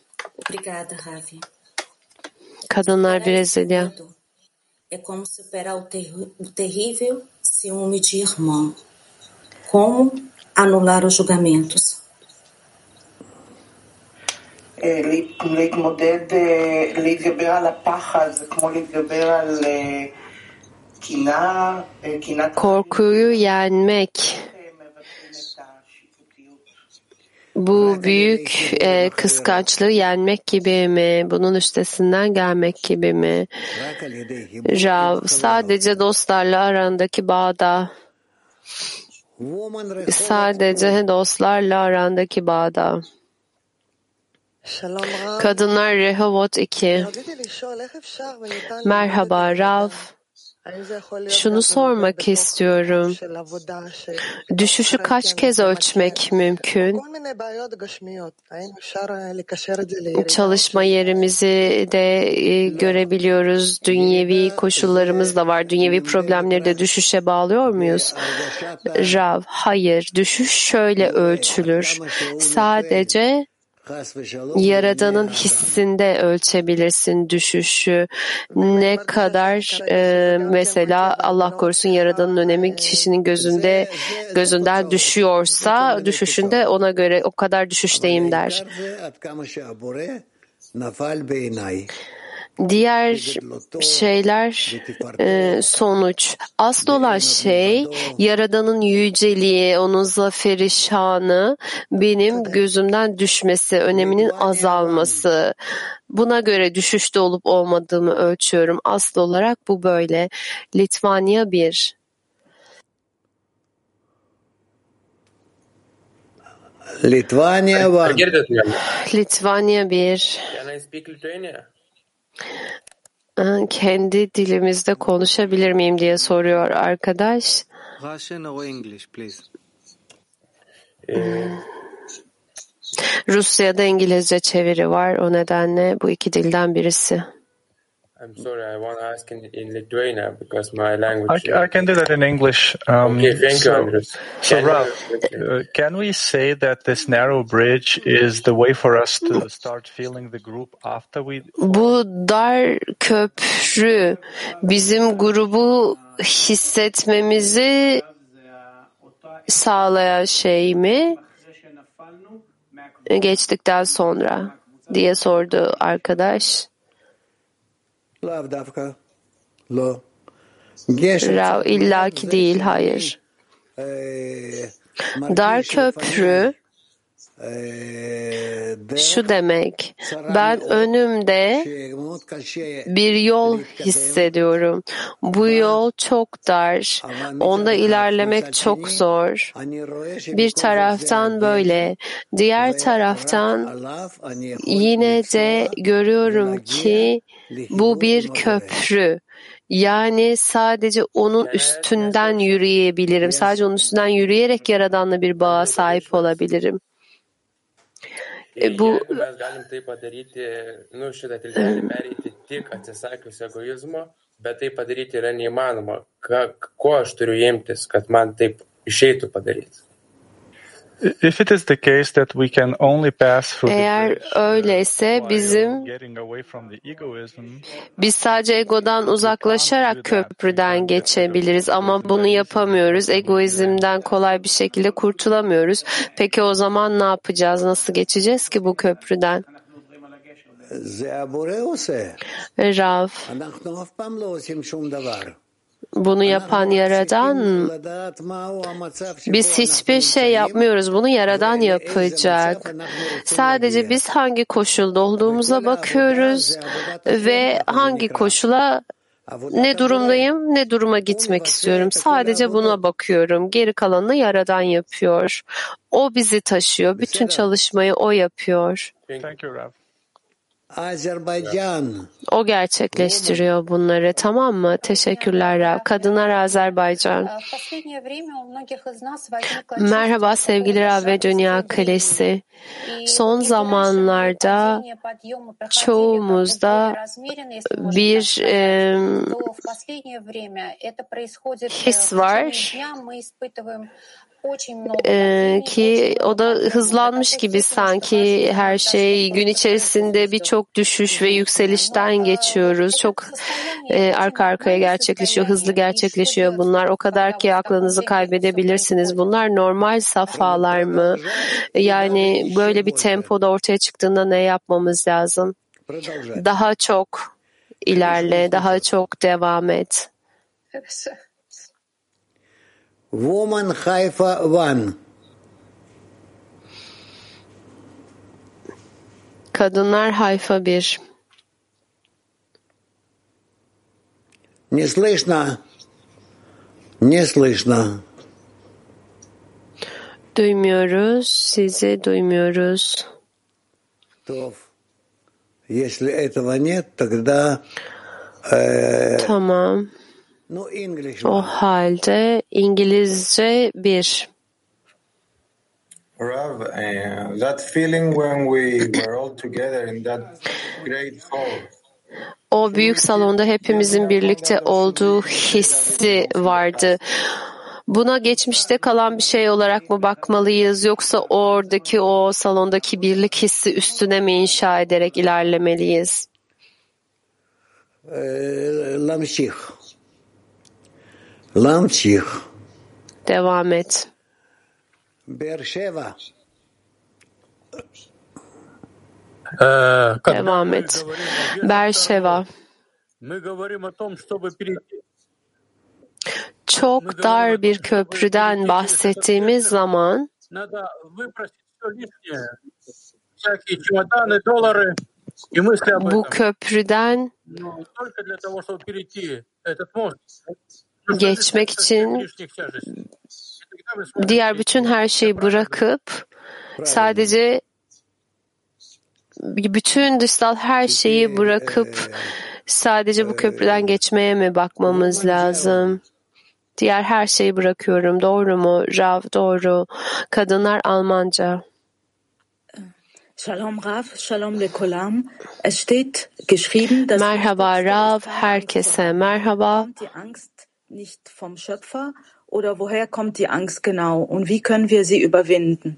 Kadınlar Brezilya. É como superar o terrível ciúme de irmão. Como anular os julgamentos? להתגבר על הפחד זה כמו להתגבר על קנאה. Korkuyu yenmek. Bu büyük kıskançlığı yenmek gibi mi? Bunun üstesinden gelmek gibi mi? Rav, sadece dostlarla arandaki bağda. Sadece dostlarla arandaki bağda. Kadınlar Rehovot 2. Merhaba Rav. Şunu sormak istiyorum. Düşüşü kaç kez ölçmek mümkün? Çalışma yerimizi de görebiliyoruz. Dünyevi koşullarımız da var. Dünyevi problemleri de düşüşe bağlıyor muyuz? Rav, hayır. Düşüş şöyle ölçülür. Sadece Yaradan'ın hissinde ölçebilirsin düşüşü. Ne kadar mesela Allah korusun Yaradan'ın önemi kişinin gözünden düşüyorsa düşüşünde ona göre o kadar düşüşteyim der. Diğer şeyler sonuç. Asıl olan şey Yaradan'ın yüceliği, onun zaferi, şanı benim gözümden düşmesi, öneminin azalması. Buna göre düşüşte olup olmadığımı ölçüyorum. Asıl olarak bu böyle. Litvanya 1. Litvanya 1. Kendi dilimizde konuşabilir miyim diye soruyor arkadaş. Russian or English, please. Rusya'da İngilizce çeviri var. O nedenle bu iki dilden birisi. I'm sorry, I want to ask in Lithuania because my language. I can do that in English. Okay, thank you, Andres. So, Rav, can we say that this narrow bridge is the way for us to start feeling the group after we? Bu dar köprü bizim grubu hissetmemizi sağlayan şey mi? Geçtikten sonra diye sordu arkadaş. Rav, illaki değil, hayır. Dar köprü şu demek, ben önümde bir yol hissediyorum. Bu yol çok dar, onda ilerlemek çok zor. Bir taraftan böyle, diğer taraftan yine de görüyorum ki bu bir köprü. Yani sadece onun üstünden yürüyebilirim. Sadece onun üstünden yürüyerek Yaradan'la bir bağa sahip olabilirim. Bu bet tai padaryti yra neįmanoma. Ko aš turiu imtis, kad man taip išeitų padaryti? If it is the case that we can only pass through eğer öyleyse biz sadece egodan uzaklaşarak köprüden geçebiliriz ama bunu yapamıyoruz. Egoizmden kolay bir şekilde kurtulamıyoruz. Peki o zaman ne yapacağız? Nasıl geçeceğiz ki bu köprüden? Rav, bunu yapan Yaradan, biz hiçbir şey yapmıyoruz. Bunu Yaradan yapacak. Sadece biz hangi koşulda olduğumuza bakıyoruz ve hangi koşula ne durumdayım, ne duruma gitmek istiyorum. Sadece buna bakıyorum. Geri kalanını Yaradan yapıyor. O bizi taşıyor. Bütün çalışmayı O yapıyor. O gerçekleştiriyor bunları, tamam mı? Teşekkürler Rav. Kadınlar Azerbaycan. Merhaba sevgili Rav ve Dünya Kalesi. Son zamanlarda çoğumuzda bir his var. Ki o da hızlanmış gibi sanki her şey gün içerisinde birçok düşüş ve yükselişten geçiyoruz. Çok arka arkaya gerçekleşiyor, hızlı gerçekleşiyor bunlar. O kadar ki aklınızı kaybedebilirsiniz. Bunlar normal safhalar mı? Yani böyle bir tempoda ortaya çıktığında ne yapmamız lazım? Daha çok ilerle, daha çok devam et. Woman Haifa 1. Kadınlar Hayfa 1. Не слышно. Не слышно. Duymuyoruz. Sizi duymuyoruz. Tof. Если этого нет, тогда Tamam. O halde İngilizce 1. Rav, that feeling when we were all together in that great hall. O büyük salonda hepimizin birlikte olduğu hissi vardı. Buna geçmişte kalan bir şey olarak mı bakmalıyız, yoksa oradaki o salondaki birlik hissi üstüne mi inşa ederek ilerlemeliyiz? Lamçih. Devam et. Beersheva. Devam et. Beersheva. Çok dar bir köprüden bahsettiğimiz zaman bu köprüden geçmek için diğer bütün her şeyi bırakıp sadece bütün dışsal her şeyi bırakıp sadece bu köprüden geçmeye mi bakmamız lazım? Diğer her şeyi bırakıyorum. Doğru mu? Rav, doğru. Kadınlar Almanca. Shalom Rav, shalom lekolam. Es steht geschrieben, dass merhaba Rav, herkese merhaba. Die Angst nicht vom Schöpfer oder woher kommt die Angst genau und wie können wir sie überwinden?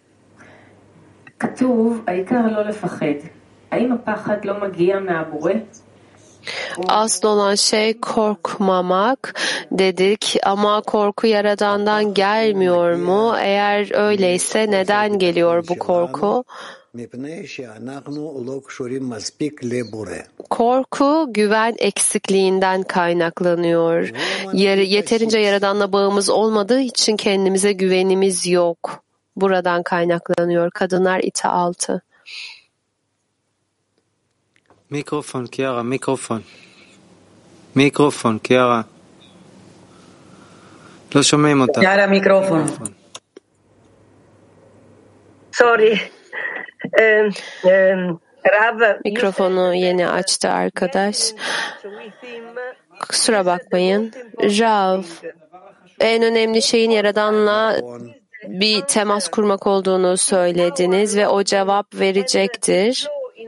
כתוב, העיקר לא לפחד. האם הפחד לא מגיע מהבורא? Asıl olan şey korkmamak dedik ama korku Yaradan'dan gelmiyor mu? Eğer öyleyse neden geliyor bu korku? Korku güven eksikliğinden kaynaklanıyor. Yeterince Yaradan'la bağımız olmadığı için kendimize güvenimiz yok. Buradan kaynaklanıyor. Kadınlar ita 6. Mikrofon, Kiara, mikrofon. Mikrofon, Kiara. לא שומעים אותה. Kiara, mikrofon. Sorry. Rav. Mikrofonu yeni açtı arkadaş. Kusura bakmayın. Rav, en önemli şeyin Yaradan'la bir temas kurmak olduğunu söylediniz ve o cevap verecektir.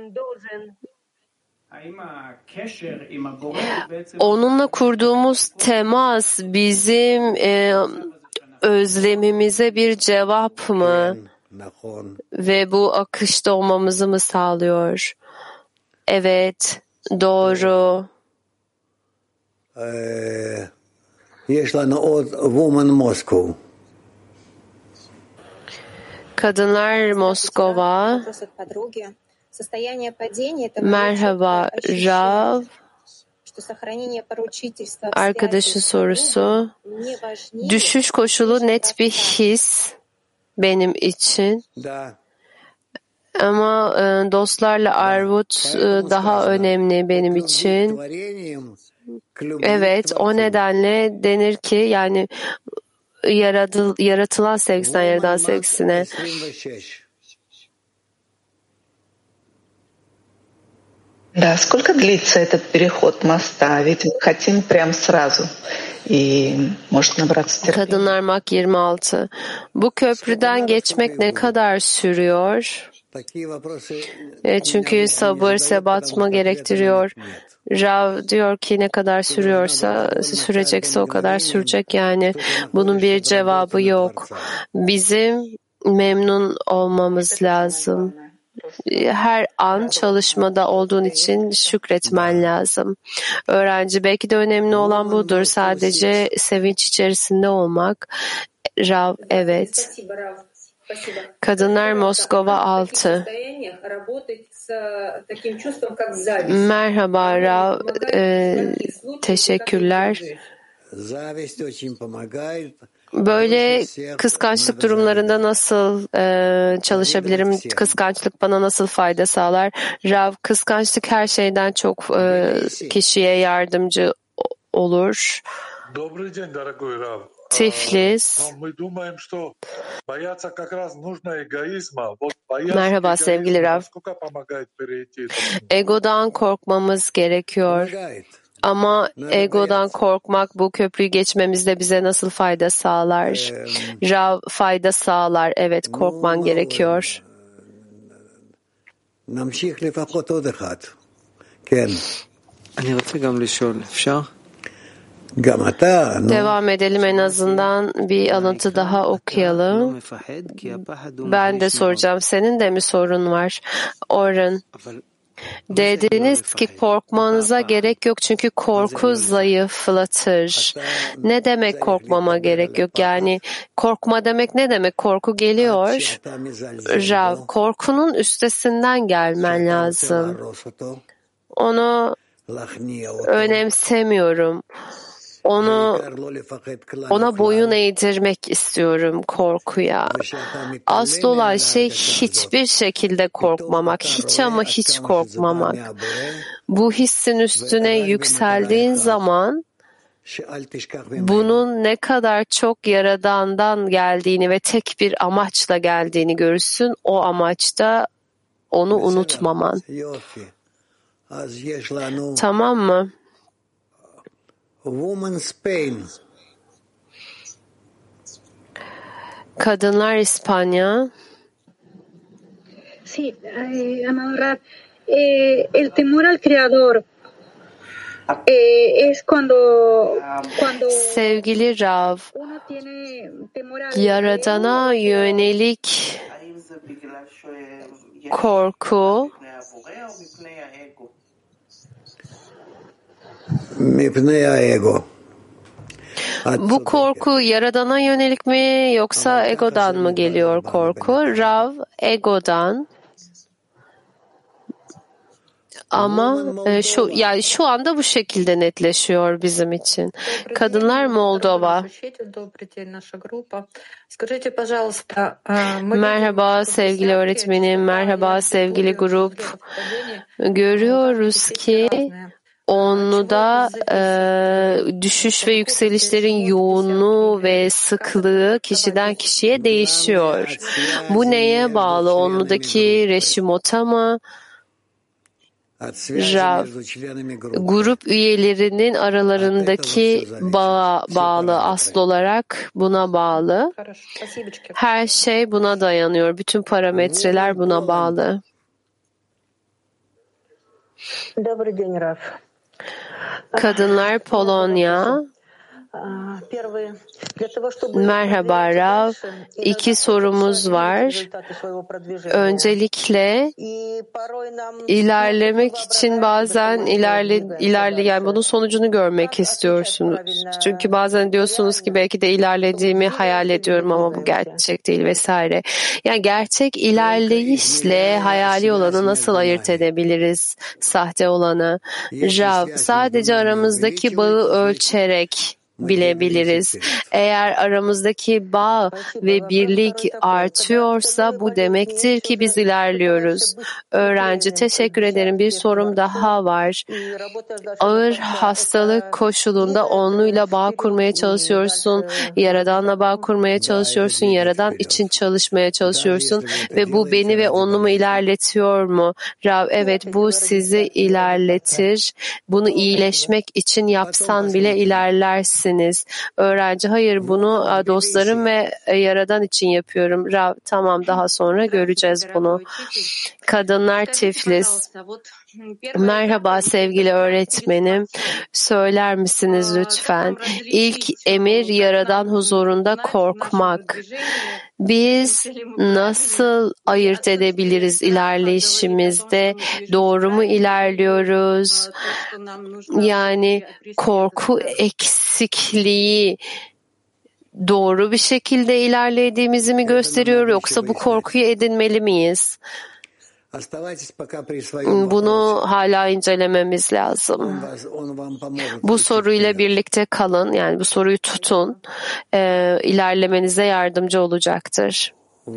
Onunla kurduğumuz temas bizim özlemimize bir cevap mı? Ve bu akışta olmamızı mı sağlıyor? Evet, doğru. Kadınlar Moskova. Merhaba Rav. Arkadaşın sorusu. Düşüş koşulu net bir his benim için. Ama dostlarla arvut daha önemli benim için. Evet, o nedenle denir ki yani yaratılan sevgisinden yaradan sevgisine. Да, сколько длится этот переход моста? Ведь хотим прям сразу. И может набраться терпения. Kadınlar Mak 26. Bu köprüden geçmek ne kadar sürüyor? Çünkü sabır, sebatma gerektiriyor. Rav diyor ki ne kadar sürüyorsa, sürecekse o kadar sürecek yani. Bunun bir cevabı yok. Bizim memnun olmamız lazım. Her an çalışmada olduğun için şükretmen lazım. Öğrenci belki de önemli olan budur. Sadece sevinç içerisinde olmak. Rav, evet. Kadınlar Moskova 6. Merhaba Rav. Teşekkürler. Böyle kıskançlık durumlarında nasıl çalışabilirim? Kıskançlık bana nasıl fayda sağlar? Rav, kıskançlık her şeyden çok kişiye yardımcı olur. Tiflis. Merhaba sevgili Rav. Egodan korkmamız gerekiyor. Ama egodan korkmak bu köprüyü geçmemizde bize nasıl fayda sağlar? Rav, fayda sağlar. Evet, korkman gerekiyor. Devam edelim, en azından bir alıntı daha okuyalım. Ben de soracağım. Senin de mi sorun var? Orhan. Dediniz ki korkmanıza gerek yok çünkü korku zayıflatır. Ne demek korkmama gerek yok? Yani korkma demek ne demek? Korku geliyor. Rav, korkunun üstesinden gelmen lazım. Onu önemsemiyorum. Ona boyun eğdirmek istiyorum korkuya. Asıl olan şey hiçbir şekilde korkmamak, hiç ama hiç korkmamak. Bu hissin üstüne yükseldiğin zaman bunun ne kadar çok Yaradan'dan geldiğini ve tek bir amaçla geldiğini görürsün. O amaçta onu unutmaman. Tamam mı? Woman's Pain. Kadınlar İspanya. Sí, amado Rab, el temor al Creador es cuando Sevgili Rav, Yaradan'a yönelik korku bu korku Yaradan'a yönelik mi yoksa egodan mı geliyor korku? Rav, egodan. Ama şu anda bu şekilde netleşiyor bizim için. Kadınlar Moldova. Merhaba sevgili öğretmenim, merhaba sevgili grup. Görüyoruz ki Onlu'da düşüş ve yükselişlerin yoğunluğu ve sıklığı kişiden kişiye değişiyor. Bu neye bağlı? Onlu'daki Reşimot'a mı? Rav, grup üyelerinin aralarındaki bağa bağlı, asıl olarak buna bağlı. Her şey buna dayanıyor. Bütün parametreler buna bağlı. Kadınlar Polonya. Merhaba Rav. 2 sorumuz var. Öncelikle ilerlemek için bazen yani bunun sonucunu görmek istiyorsunuz. Çünkü bazen diyorsunuz ki belki de ilerlediğimi hayal ediyorum ama bu gerçek değil vesaire. Yani gerçek ilerleyişle hayali olanı nasıl ayırt edebiliriz, sahte olanı? Rav, sadece aramızdaki bağı ölçerek bilebiliriz. Eğer aramızdaki bağ ve birlik artıyorsa bu demektir ki biz ilerliyoruz. Öğrenci, teşekkür ederim. Bir sorum daha var. Ağır hastalık koşulunda onluyla bağ kurmaya çalışıyorsun, Yaradan'la bağ kurmaya çalışıyorsun, Yaradan için çalışmaya çalışıyorsun ve bu beni ve onlumu ilerletiyor mu? Rav, evet, bu sizi ilerletir. Bunu iyileşmek için yapsan bile ilerlersin. Öğrenci, hayır, bunu dostlarım ve Yaradan için yapıyorum. Rav, tamam, daha sonra göreceğiz bunu. Kadınlar Tiflis. Merhaba sevgili öğretmenim. Söyler misiniz lütfen? İlk emir Yaradan huzurunda korkmak. Biz nasıl ayırt edebiliriz ilerleyişimizde? Doğru mu ilerliyoruz? Yani korku eksikliği doğru bir şekilde ilerlediğimizi mi gösteriyor, yoksa bu korkuyu edinmeli miyiz? Bunu hala incelememiz lazım. Bu soruyla birlikte kalın, yani bu soruyu tutun, ilerlemenize yardımcı olacaktır.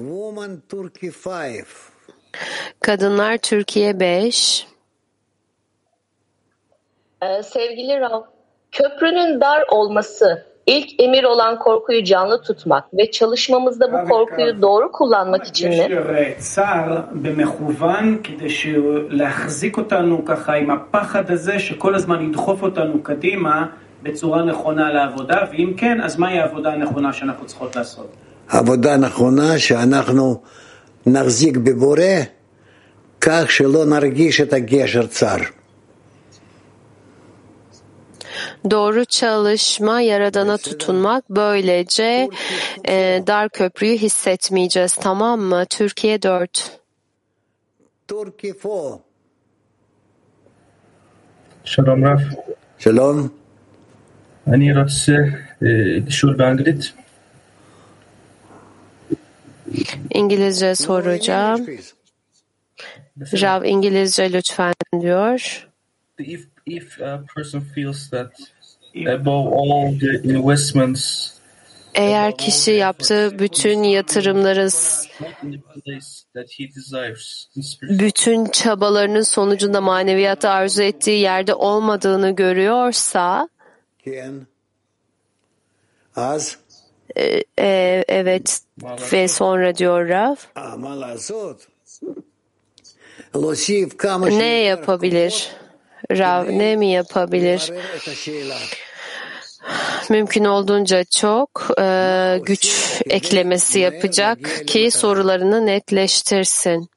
Kadınlar Türkiye 5. Sevgili Rav, köprünün dar olması İlk emir olan korkuyu canlı tutmak ve çalışmamızda bu korkuyu doğru kullanmak için mi? צער במכוון כדי להחזיק אותנו ככה עם הפחד הזה שכל הזמן ידחוף אותנו קדימה בצורה נכונה לעבודה, ואם כן, אז מהי העבודה הנכונה שאנחנו צריכות לעשות? העבודה הנכונה שאנחנו נחזיק בבורא כך שלא נרגיש את הגשר צר. Doğru çalışma, Yaradan'a tutunmak. Böylece dar köprüyü hissetmeyeceğiz. Tamam mı? Türkiye 4. Türkiye 4. שלום רב. שלום. אני רוצה לשאול באנגלית. İngilizce soracağım. Rav İngilizce lütfen diyor. If a person feels that above all the investments, eğer kişi yaptığı bütün yatırımların, bütün çabalarının sonucunda maneviyatı arzu ettiği yerde olmadığını görüyorsa, evet ve sonra diyor Rav, ne yapabilir? Rav ne mi yapabilir? Mümkün olduğunca çok güç eklemesi yapacak ki sorularını netleştirsin.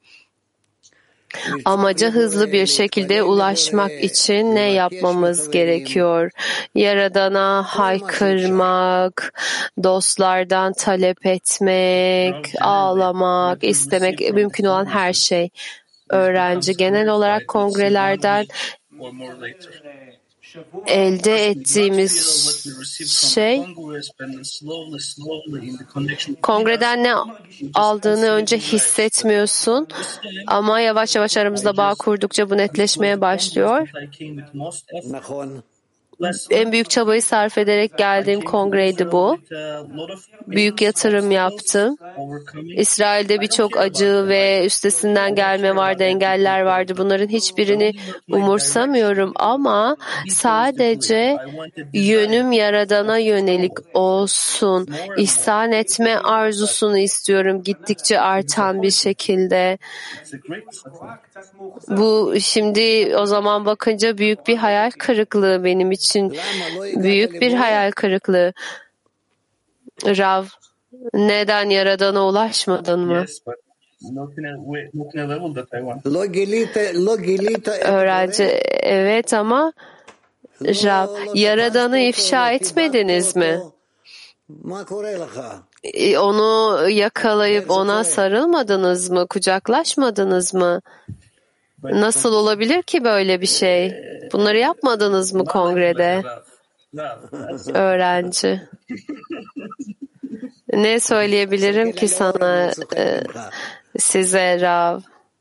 Amaca hızlı bir şekilde ulaşmak için ne yapmamız gerekiyor? Yaradan'a haykırmak, dostlardan talep etmek, ağlamak, istemek, mümkün olan her şey. Öğrenci genel olarak kongrelerden elde ettiğimiz şey, kongreden ne aldığını önce hissetmiyorsun ama yavaş yavaş aramızda bağ kurdukça bu netleşmeye başlıyor. En büyük çabayı sarf ederek geldiğim kongreydi bu. Büyük yatırım yaptım. İsrail'de birçok acı ve üstesinden gelme vardı, engeller vardı. Bunların hiçbirini umursamıyorum ama sadece yönüm Yaradan'a yönelik olsun. İhsan etme arzusunu istiyorum gittikçe artan bir şekilde. Bu şimdi o zaman bakınca büyük bir hayal kırıklığı benim için. Büyük bir hayal kırıklığı. Rav, neden Yaradan'a ulaşmadın mı? Öğrenci, evet ama Rav, Yaradan'ı ifşa etmediniz mi? Onu yakalayıp ona sarılmadınız mı? Kucaklaşmadınız mı? Nasıl olabilir ki böyle bir şey? Bunları yapmadınız mı kongrede? Öğrenci. Ne söyleyebilirim ki sana, size Rav?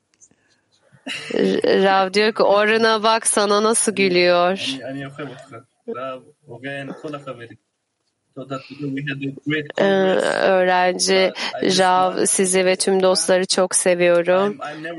Rav diyor ki Orun'a bak sana nasıl gülüyor. Öğrenci, Rav, sizi ve tüm dostları çok seviyorum.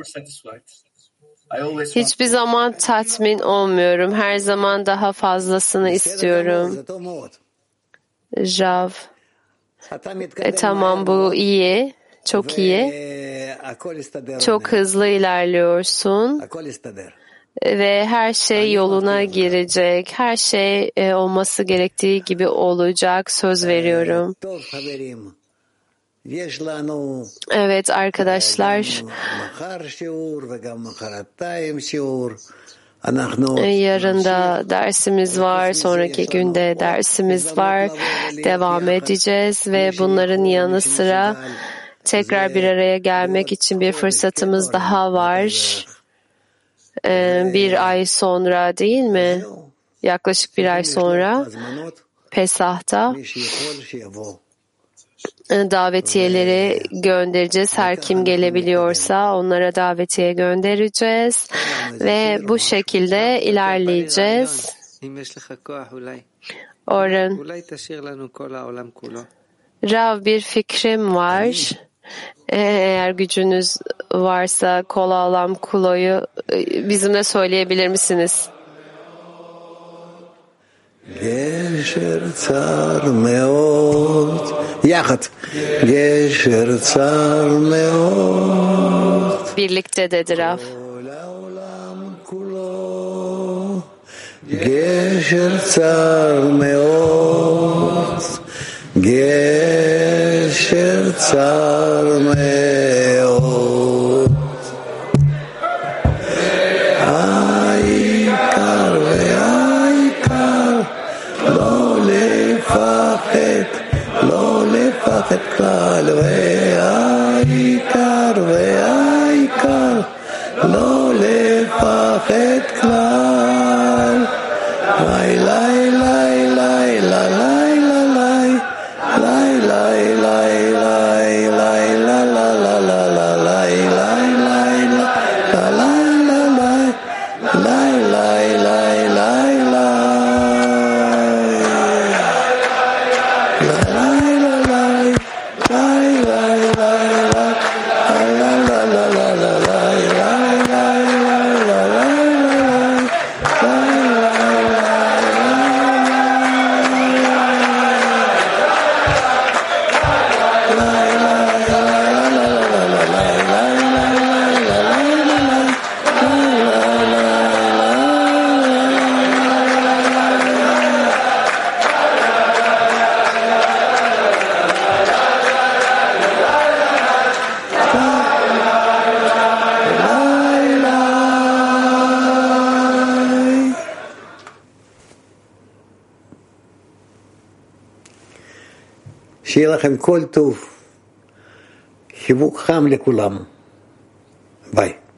Hiçbir zaman tatmin olmuyorum. Her zaman daha fazlasını istiyorum. Rav. Tamam, bu iyi. Çok iyi. Çok hızlı ilerliyorsun. Ve her şey yoluna girecek. Her şey olması gerektiği gibi olacak. Söz veriyorum. Evet arkadaşlar. Yarın da dersimiz var, sonraki günde dersimiz var. Devam edeceğiz ve bunların yanı sıra tekrar bir araya gelmek için bir fırsatımız daha var. Bir ay sonra değil mi? Yaklaşık bir ay sonra Pesah'ta davetiyeleri göndereceğiz. Her kim gelebiliyorsa onlara davetiye göndereceğiz ve bu şekilde ilerleyeceğiz. Orun, Rav, bir fikrim var. Eğer gücünüz varsa Kola Alam Kulo'yu bizimle söyleyebilir misiniz? גשר צר מאוד, יחד, גשר צר מאוד, Birlikte dedi Rav. גשר צר מאוד, גשר צר מאוד, העיקר והעיקר לא לפחד, לא לפחד כלל, והעיקר והעיקר לא לפחד כלל. ליי ליי ליי ליי ליי ליי ליי ליי ליי ליי שיהיה לכם כל טוב, חיבוק חם לכולם. ביי.